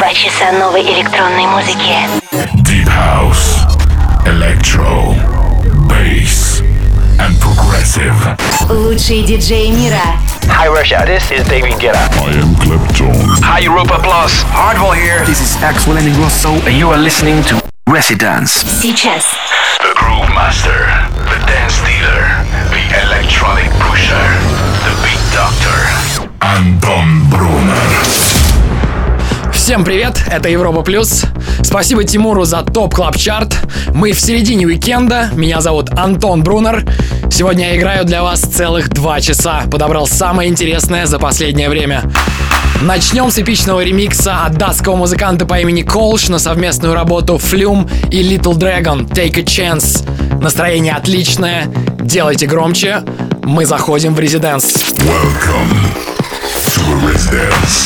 2 часа новой электронной музыки. Deep House, Electro, Bass and Progressive. Лучшие диджеи мира. Hi Russia, this is David Guetta. I am Clapton. Hi Europa Plus, Hardwell here. This is Axel and Ingrosso, and you are listening to Residence. Сейчас. The Groove Master, the Dance Dealer, the Electronic Pusher, the Beat Doctor. Антон Брунер. Всем привет, это Европа Плюс. Спасибо Тимуру за ТОП Клаб Чарт. Мы в середине уикенда. Меня зовут Антон Брунер. Сегодня я играю для вас целых 2 часа. Подобрал самое интересное за последнее время. Начнем с эпичного ремикса от датского музыканта по имени Колш на совместную работу Flume и Little Dragon Take a Chance. Настроение отличное. Делайте громче. Мы заходим в резиденс. Welcome to a Residence.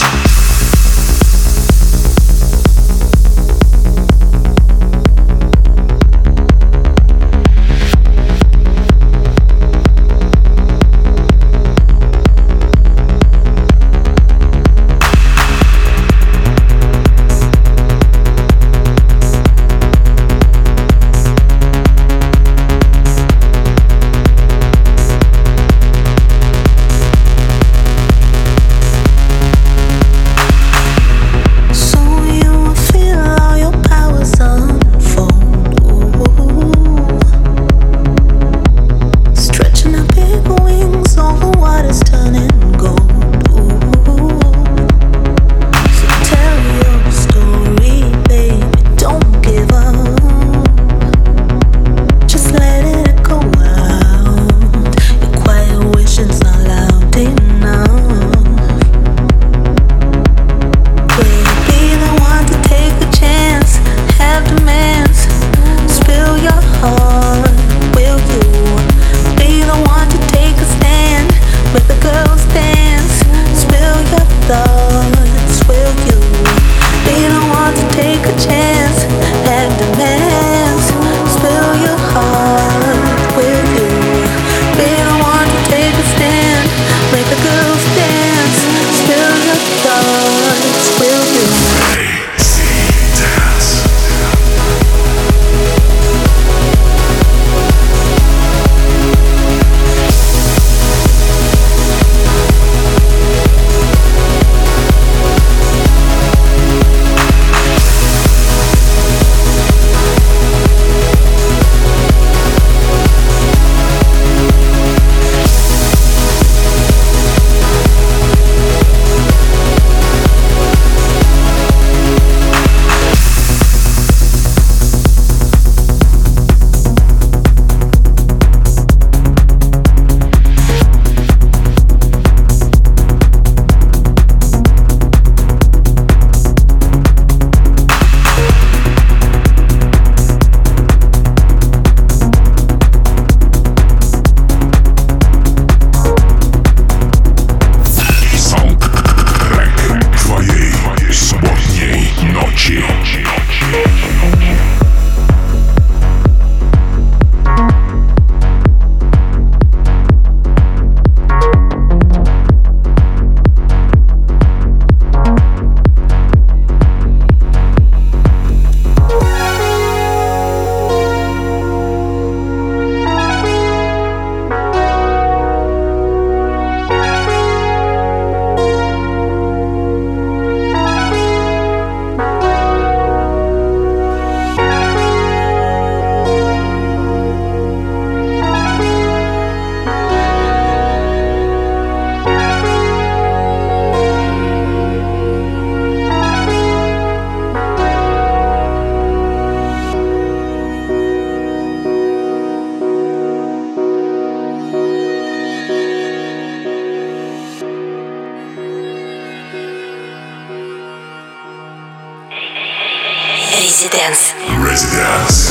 Residence.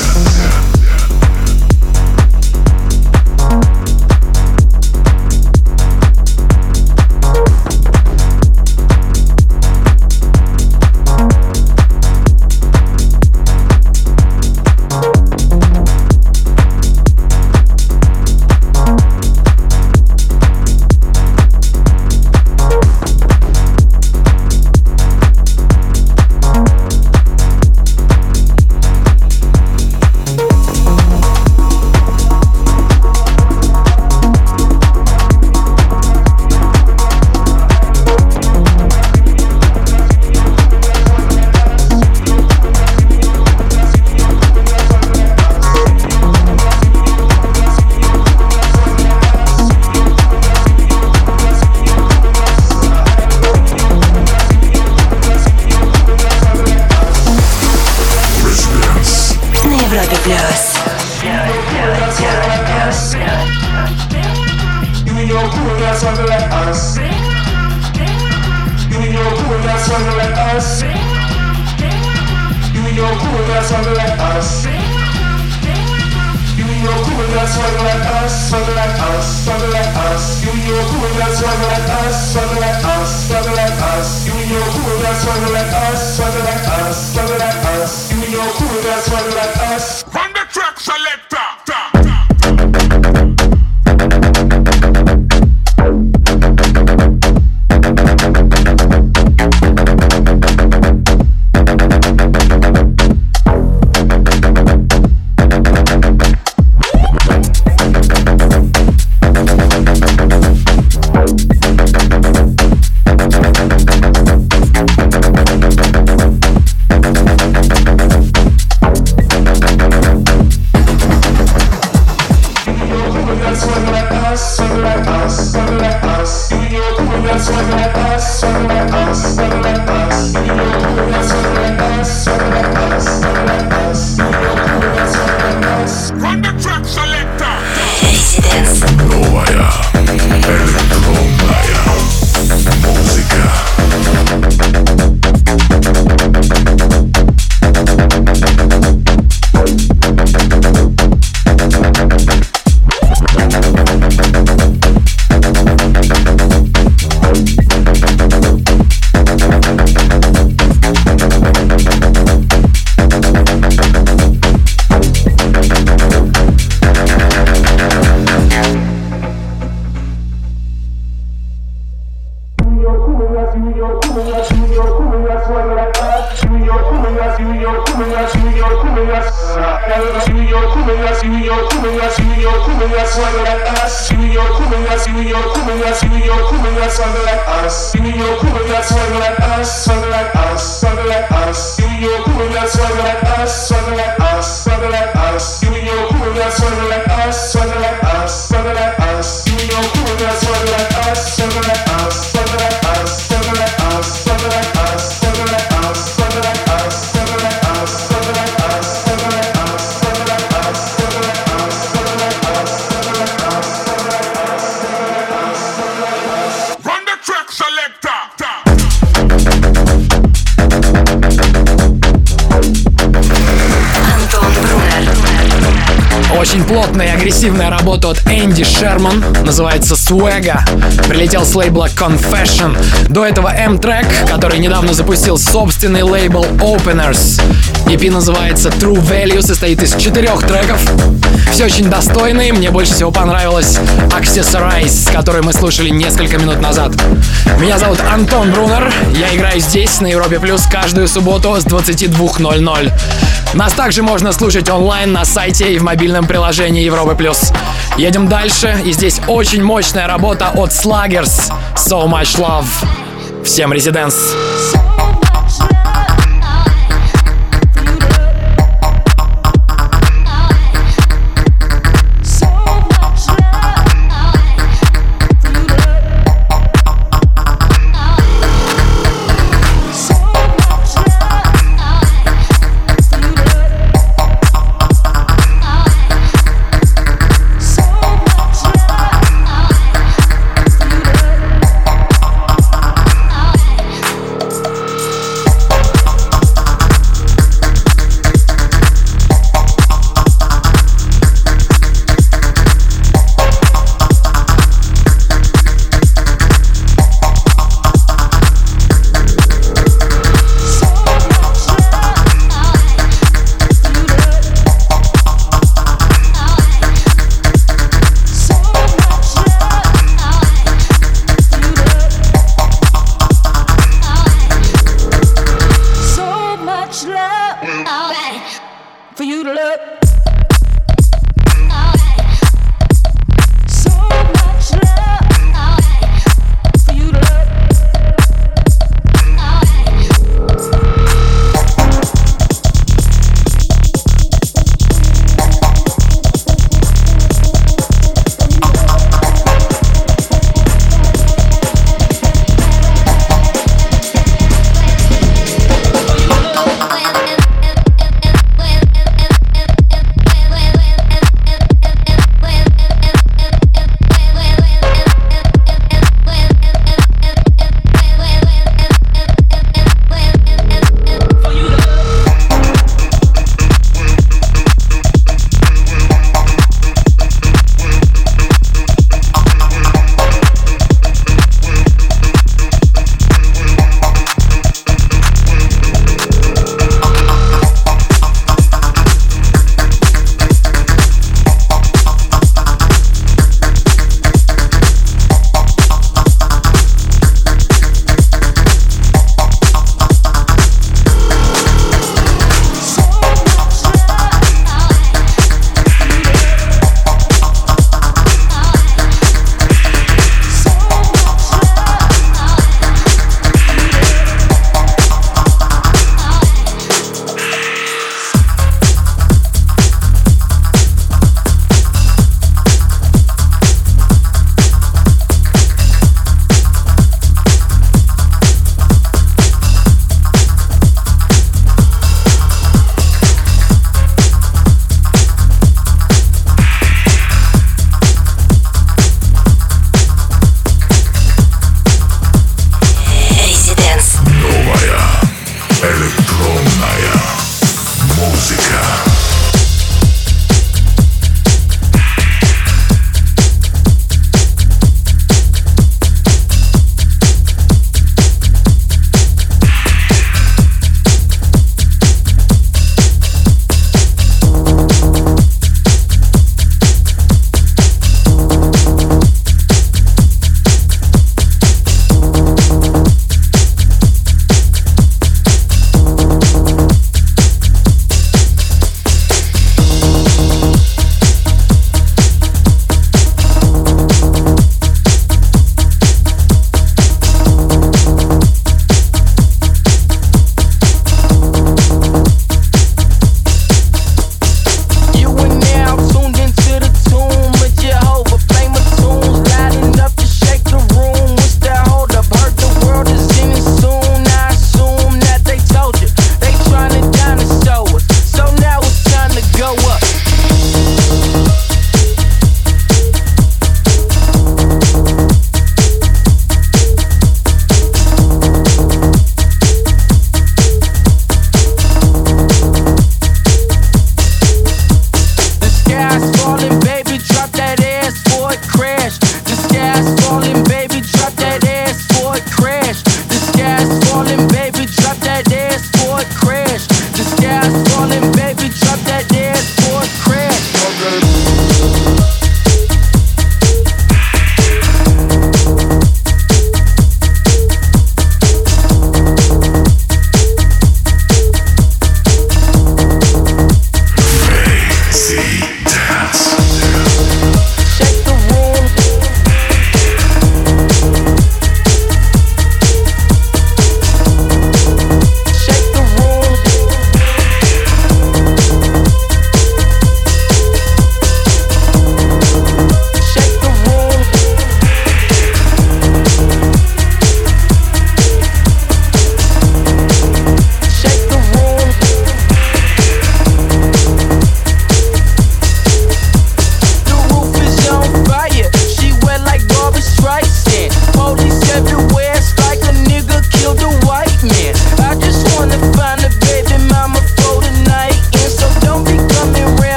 Очень плотная и агрессивная работа от Энди Шерман, называется Swagga. Прилетел с лейбла Confession. До этого M-Track, который недавно запустил собственный лейбл Openers. EP называется True Value, состоит из 4 треков. Все очень достойные, мне больше всего понравилась Accessorize, которую мы слушали несколько минут назад. Меня зовут Антон Брунер, я играю здесь, на Европе Плюс, каждую субботу с 22:00. Нас также можно слушать онлайн на сайте и в мобильном приложении Европы Плюс. Едем дальше, и здесь очень мощная работа от Sluggers, So Much Love. Всем резиденс!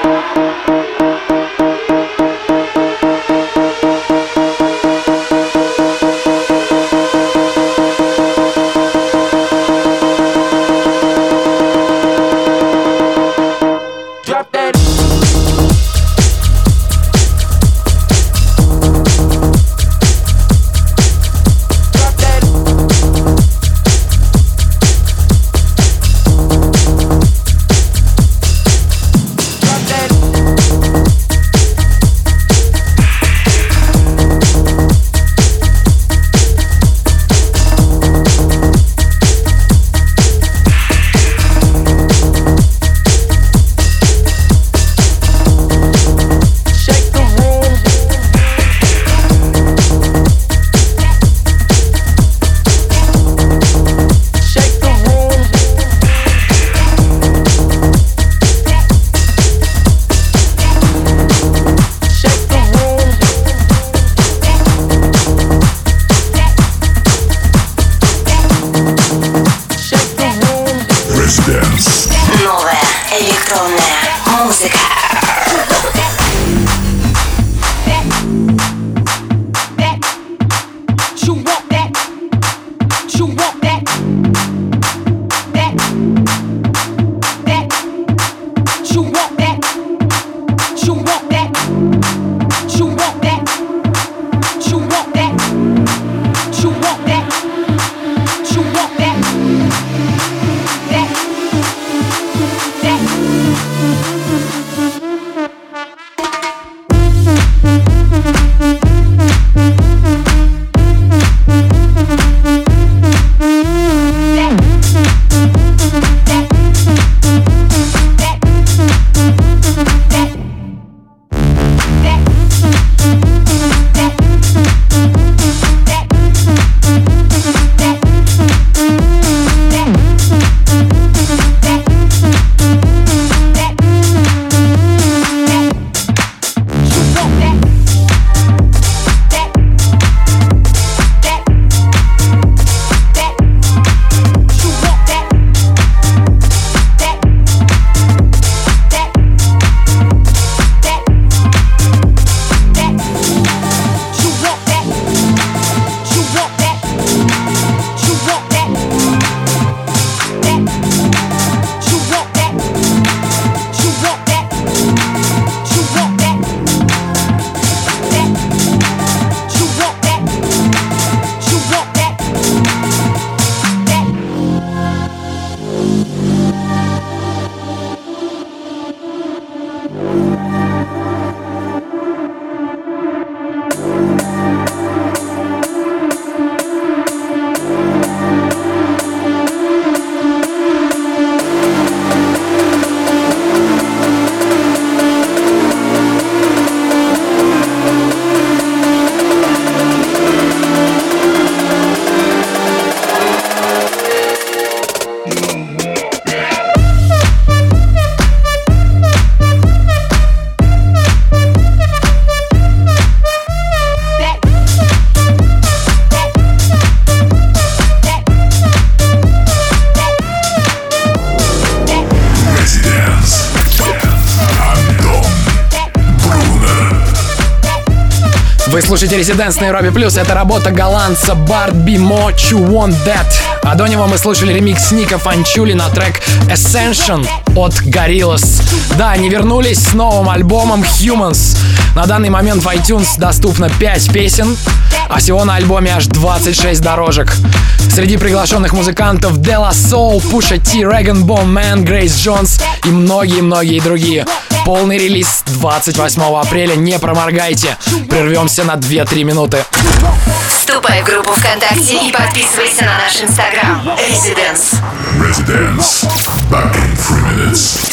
Вы слушаете Residence на Европе Плюс. Это работа голландца Bart B. What You Want That. А до него мы слушали ремикс Ника Фанчули на трек Ascension от Gorillaz. Да, они вернулись с новым альбомом Humans. На данный момент в iTunes доступно 5 песен, а всего на альбоме аж 26 дорожек. Среди приглашенных музыкантов De La Soul, Pusha T, Rag & Bone Man, Grace Jones и многие-многие другие. Полный релиз 28 апреля, не проморгайте. Прервемся на 2-3 минуты. Вступай в группу ВКонтакте и подписывайся на наш Инстаграм. Residence. Residence. Back in 3 minutes.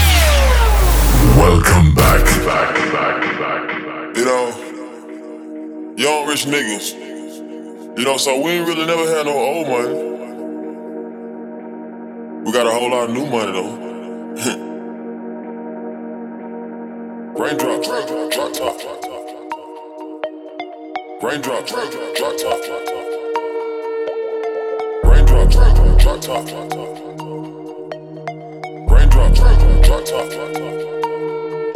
Welcome back. You know, young rich niggas. You know, so we ain't really never had no old money. We got a whole lot of new money though. Raindrop, drop top. Raindrop, drop top. Raindrop, drop top. Raindrop, drop top.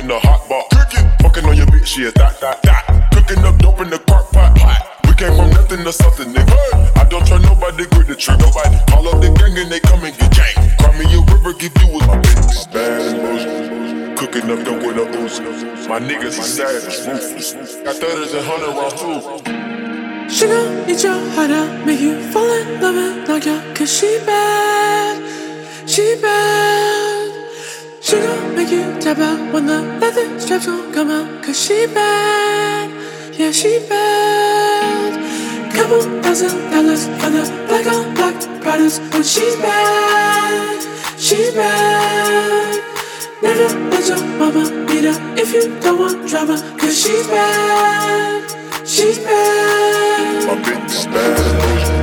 in the hot pot. Fucking on your bitch, yeah, that. Cooking up dope in the crock pot. We came from nothing to something, nigga. I don't try nobody, grip the trigger. Nobody call up the gang and they come and get gang. Cry me a river, give you with my bitch. Bad emotion. Cooking up dope with a ooze. My niggas are savage, ruthless. Got 30s and 100 rounds too. She gon' eat your heart out, make you fall in love and knock you out. Cause she bad, she bad. She gon' make you tap out when the leather straps gon' come out. Cause she bad, yeah she bad. Couple $1,000 for the black on black products. When she's bad, she's bad. Never let your mama beat her if you don't want drama. Cause she's bad, she's bad. My bitch is bad.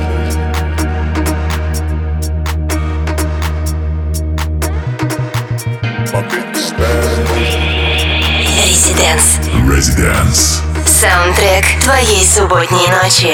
My bitch is bad. Residence. Саундтрек твоей субботней ночи.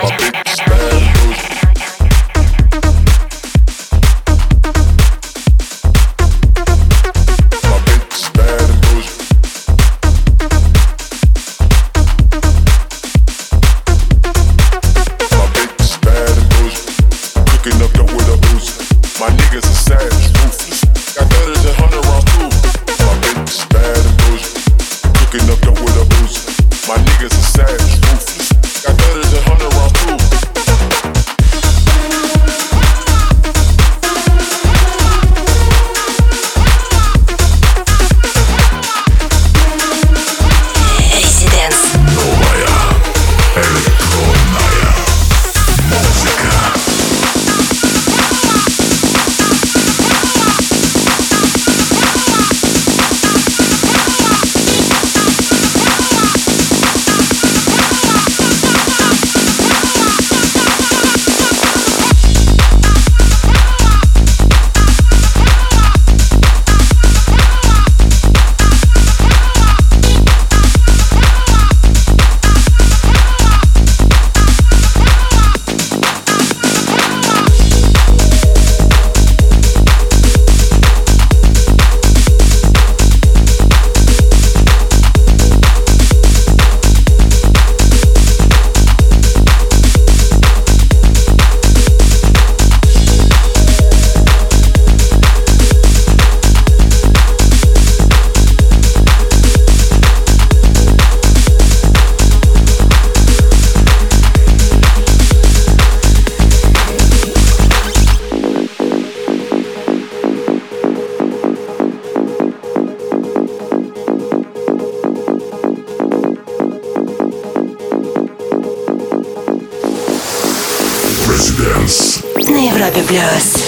На Европе плюс.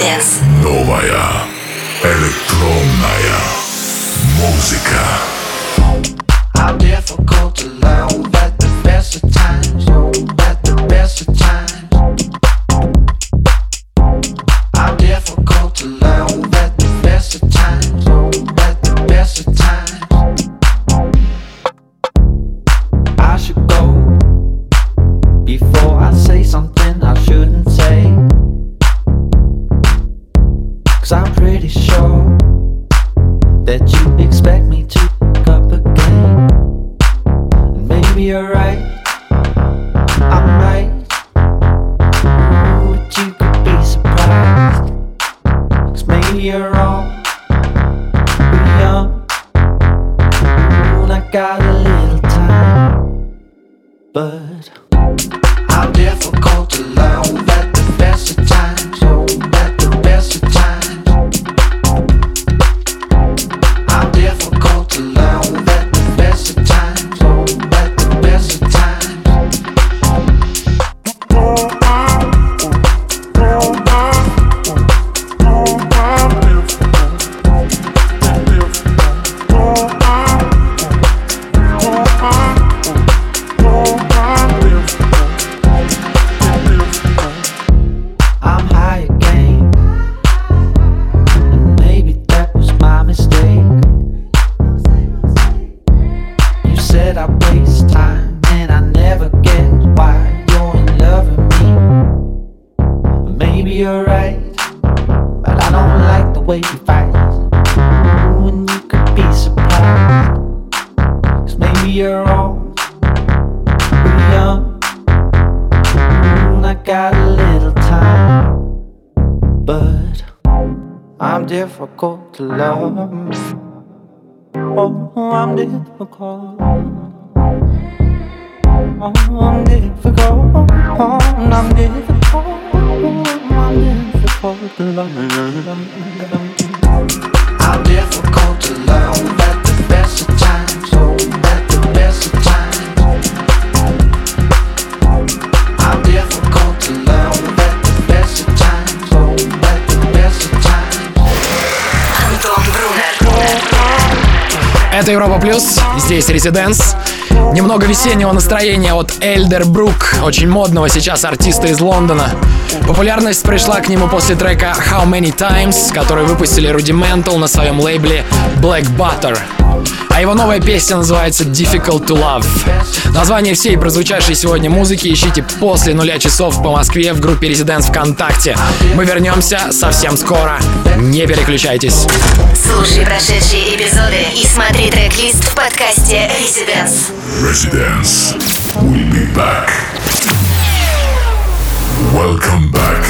Residence. Новая электронная музыка. How difficult to love at the best of times, at the best of times. How difficult to love at the best of times, at the best of times. I should go before I say something I shouldn't say, 'cause I'm pretty sure that you expect me to pick up again. And maybe you're right, I'm right. Ooh, but you could be surprised, 'cause maybe you're wrong, we're young. Ooh, and I got a little time, but I'm difficult to love at the best of times, at the best of times. I'm difficult to love at the best of times, at the best of times. I'm high again, and maybe that was my mistake. You said I waste time, and I never get why you're in love with me. Maybe you're right, but I don't like the way you fight. Ooh, and you could be surprised, 'cause maybe you're wrong, we're young. Ooh, and I got a little time, but I'm difficult to love. Oh, I'm difficult. Oh, I'm difficult. Oh, I'm difficult. I'm difficult to love. I'm difficult to love at the best of times. At the best of times. I'm difficult to love at the best of times. At the best of times. Антон Брунер. Это Европа Плюс, здесь Residence. Немного весеннего настроения от Эльдербрук, очень модного сейчас артиста из Лондона. Популярность пришла к нему после трека How Many Times, который выпустили Rudimental на своем лейбле Black Butter. А его новая песня называется Difficult to Love. Название всей прозвучавшей сегодня музыки ищите после 0 часов по Москве в группе Residence ВКонтакте. Мы вернемся совсем скоро. Не переключайтесь. Слушай прошедшие эпизоды и смотри трек-лист в подкасте Residence. Residence. We'll be back. Welcome back.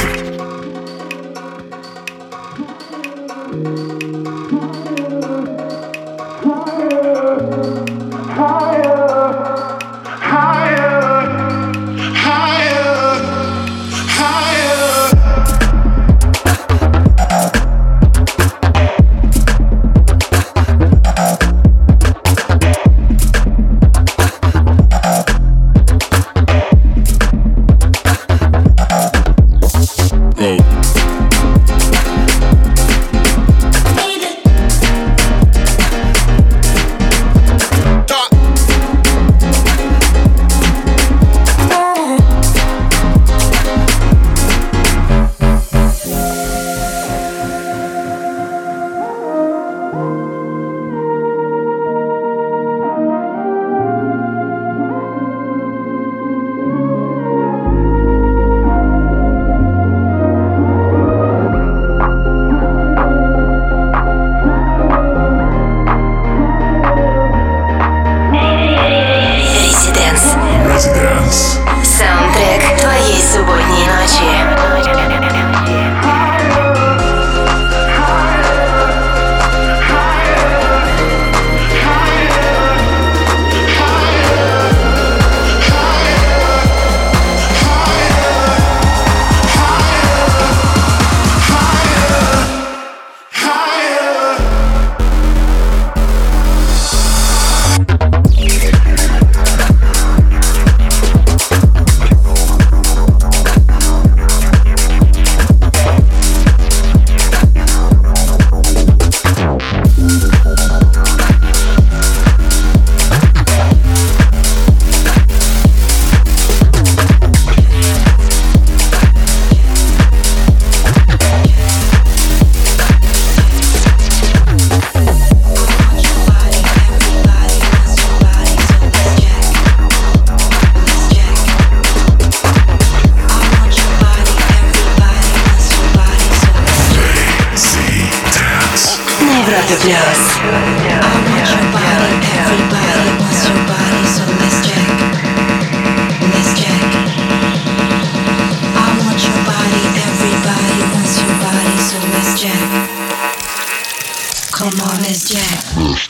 Европе плюс. Come on, let's jack.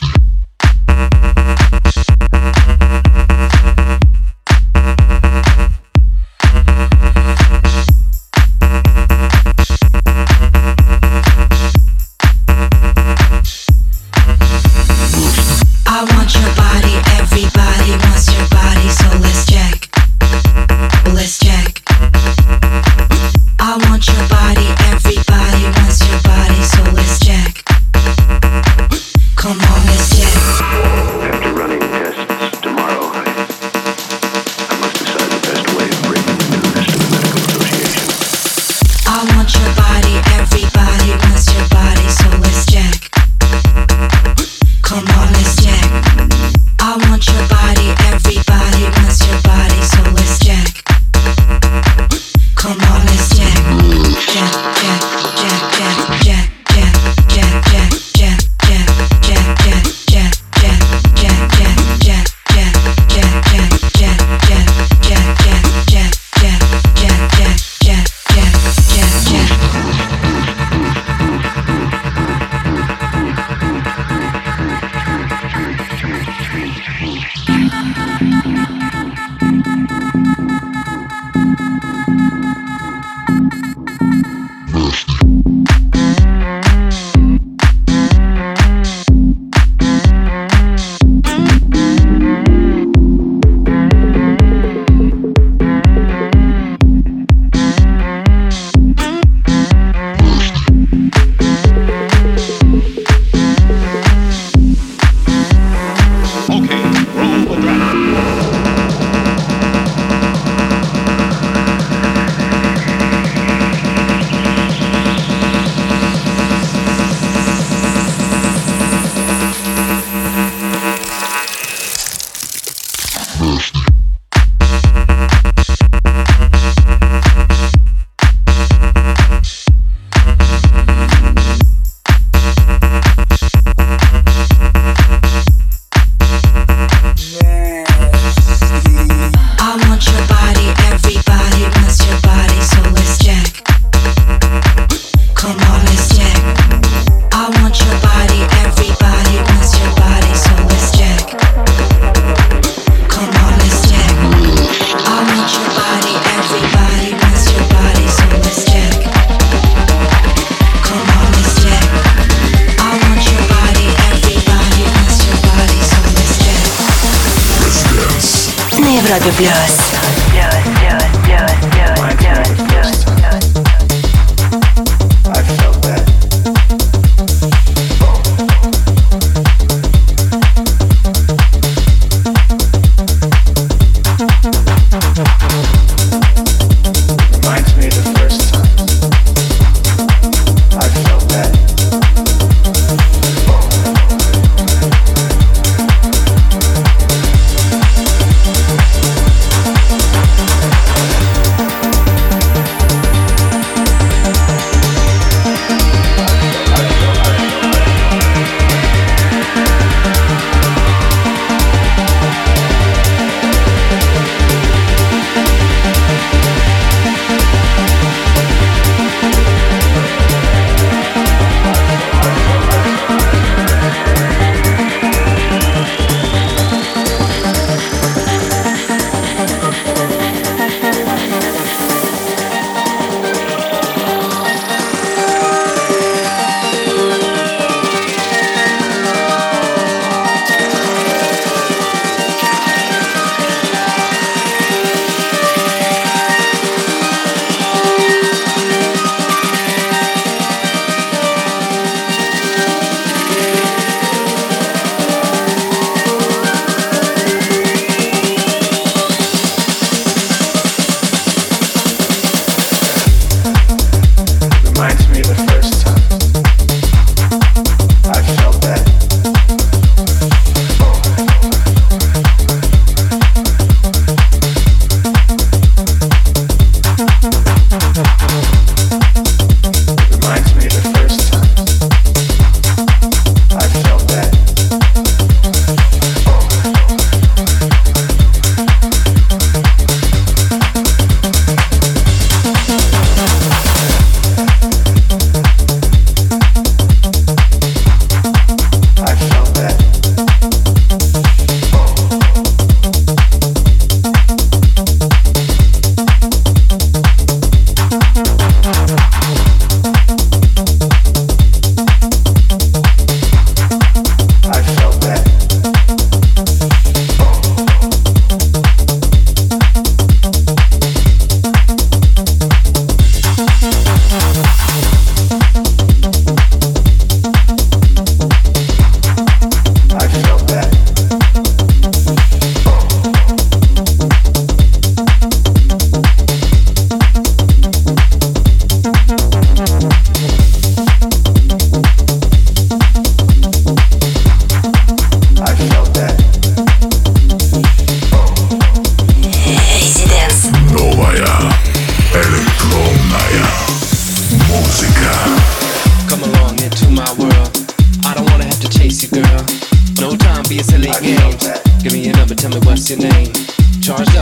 Европе плюс.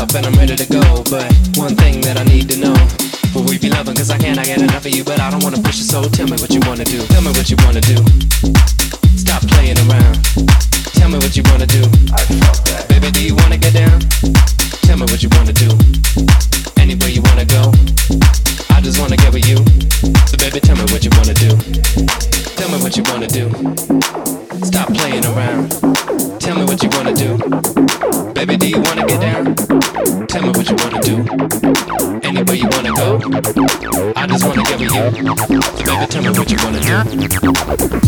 up and I'm ready to go. But one thing that I need to know, will we be loving? Cause I can't get enough of you, but I don't wanna push you, so tell me what you wanna do. Tell me what you wanna do. Stop playing around. Tell me what you wanna do. Baby, do you wanna get down? Tell me what you wanna do. Anywhere you wanna go, I just wanna get with you. So baby, tell me what you wanna do. Tell me what you wanna do. Stop playing around. Tell me what you wanna do. Baby, do you wanna get down? Tell me what you wanna do. Anywhere you wanna go, I just wanna get with you. So baby, tell me what you wanna do.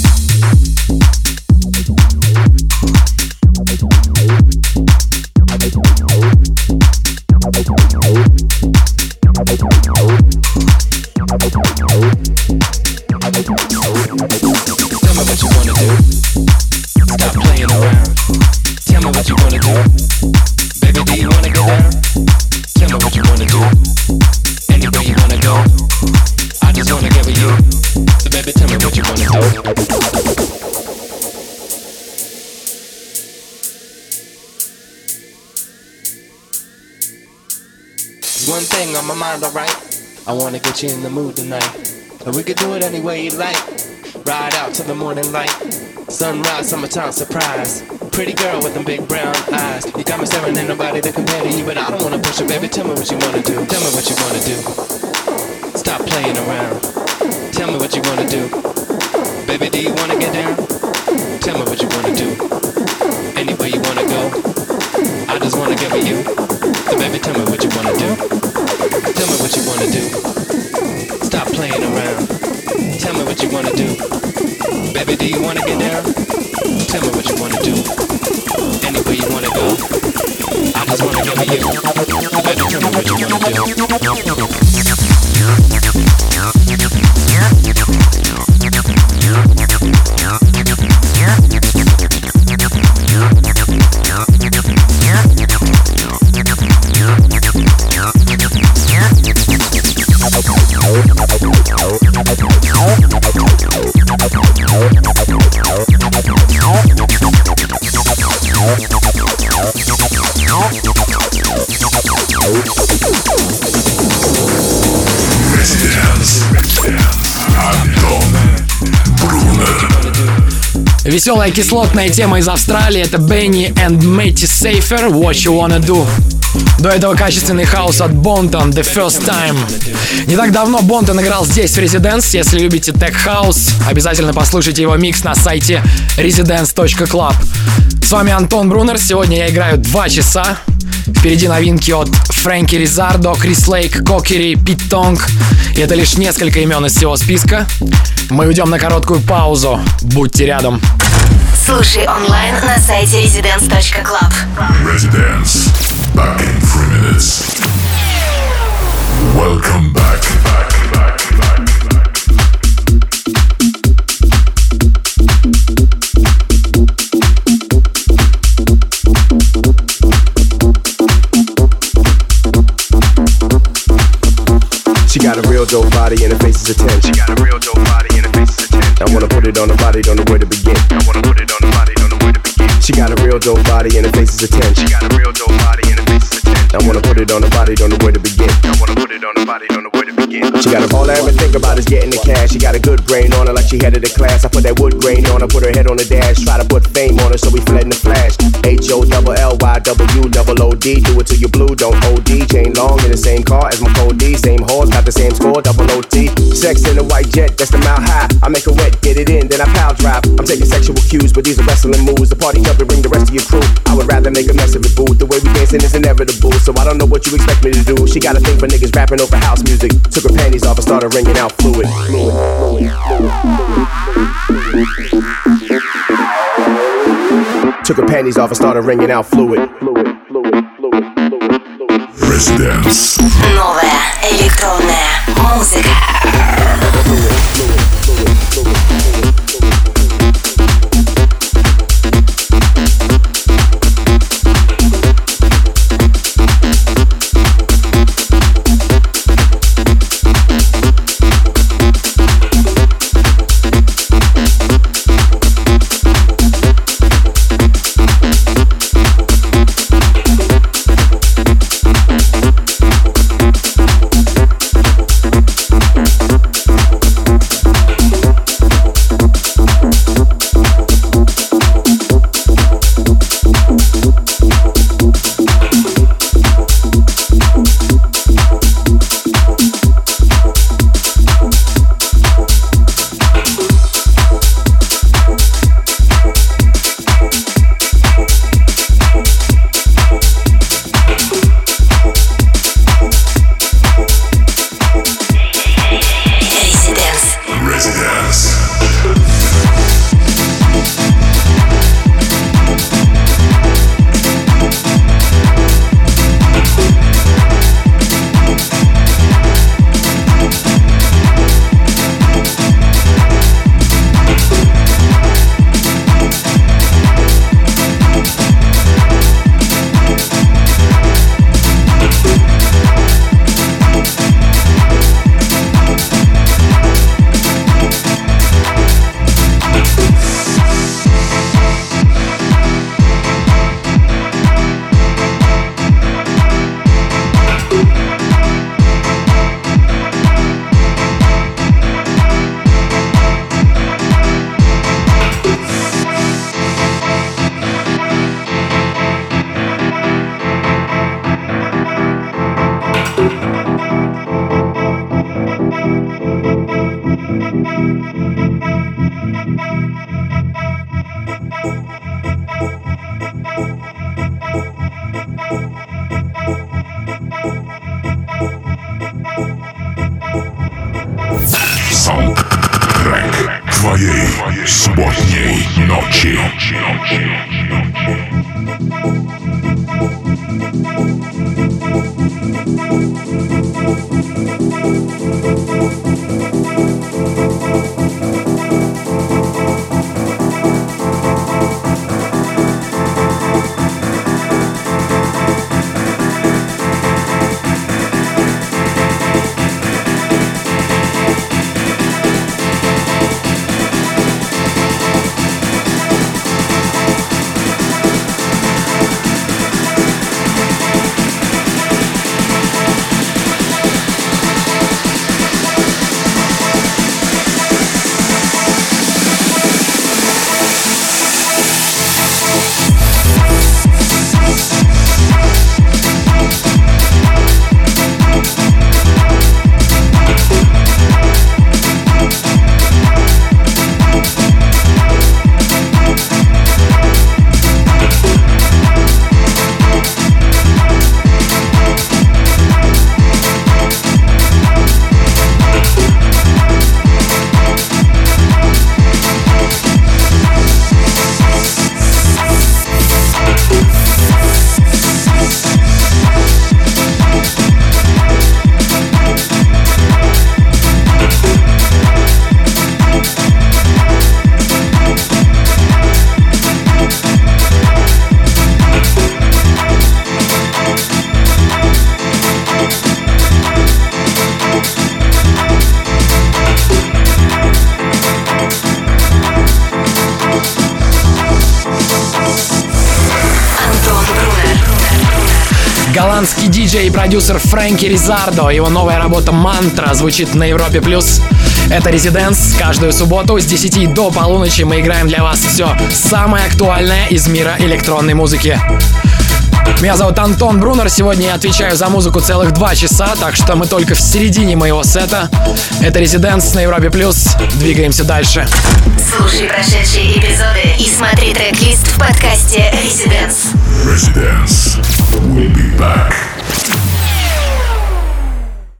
One thing on my mind, alright. I wanna get you in the mood tonight. And we could do it any way you like. Ride out till the morning light. Sunrise, summertime surprise. Pretty girl with them big brown eyes. You got me staring, ain't nobody to compare to you, but I don't wanna push it, baby. Tell me what you wanna do. Tell me what you wanna do. Stop playing around. Tell me what you wanna do. Baby, do you wanna get down? Tell me what you wanna do. Anywhere you wanna go, I just wanna get with you. So baby, tell me what you wanna do. Tell me what you wanna do. Stop playing around. Tell me what you wanna do. Baby, do you wanna get down? Tell me what you wanna do. Anywhere you wanna go, I just wanna get with you. Baby, tell me what you wanna do. Веселая кислотная тема из Австралии — это Benny and Matty Safer, What You Wanna Do. До этого качественный хаус от Бонтон, The First Time. Не так давно Бонтон играл здесь, в Residence. Если любите Tech House, обязательно послушайте его микс на сайте residence.club. С вами Антон Брунер. Сегодня я играю 2 часа. Впереди новинки от Фрэнки Ризардо, Крис Лейк, Кокери, Пит Тонг. И это лишь несколько имен из всего списка. Мы уйдем на короткую паузу. Будьте рядом. Слушай онлайн на сайте residence.club. Residence. Back in 3 minutes. Welcome back. She got a real dope body and her face is a 10. She got a real dope body and her face is a 10. I wanna put it on the body, don't know where to begin. I wanna put it on the body, don't know where to begin. She got a real dope body and her face is a 10. She got a real dope body and her face is a 10. I wanna put it on the body, don't know where to begin. I wanna put it on the body, don't know where to begin. She got all I ever think about is getting the cash. She got a good brain on her like she headed the class. I put that wood grain on her, put her head on the dash. Try to put fame on her so we fled in the flash. HOLLYWOOD, do it till you blue, don't OD. Chain long in the same car as my code D. Same horse, got the same score, double OT. Sex in a white jet, that's the mile high. I make her wet, get it in, then I pile drive. I'm taking sexual cues, but these are wrestling moves. The party jumping, bring the rest of your crew. I would rather make a mess of it, boo. The way we dancing is inevitable, so I don't know what you expect me to do. She got a thing for niggas rapping over house music. Took her panties off and started ringing out fluid. Took her panties off and started ringing out fluid. Residence. Новая электронная музыка. твоей субботней ночи. Голландский диджей и продюсер Фрэнки Ризардо. Его новая работа «Мантра» звучит на Европе+. Это Residence. Каждую субботу с 10 до полуночи мы играем для вас все самое актуальное из мира электронной музыки. Меня зовут Антон Брунер. Сегодня я отвечаю за музыку целых 2 часа, так что мы только в середине моего сета. Это Residence на Европе+. Двигаемся дальше. Слушай прошедшие эпизоды и смотри трек-лист в подкасте Residence. We'll be back.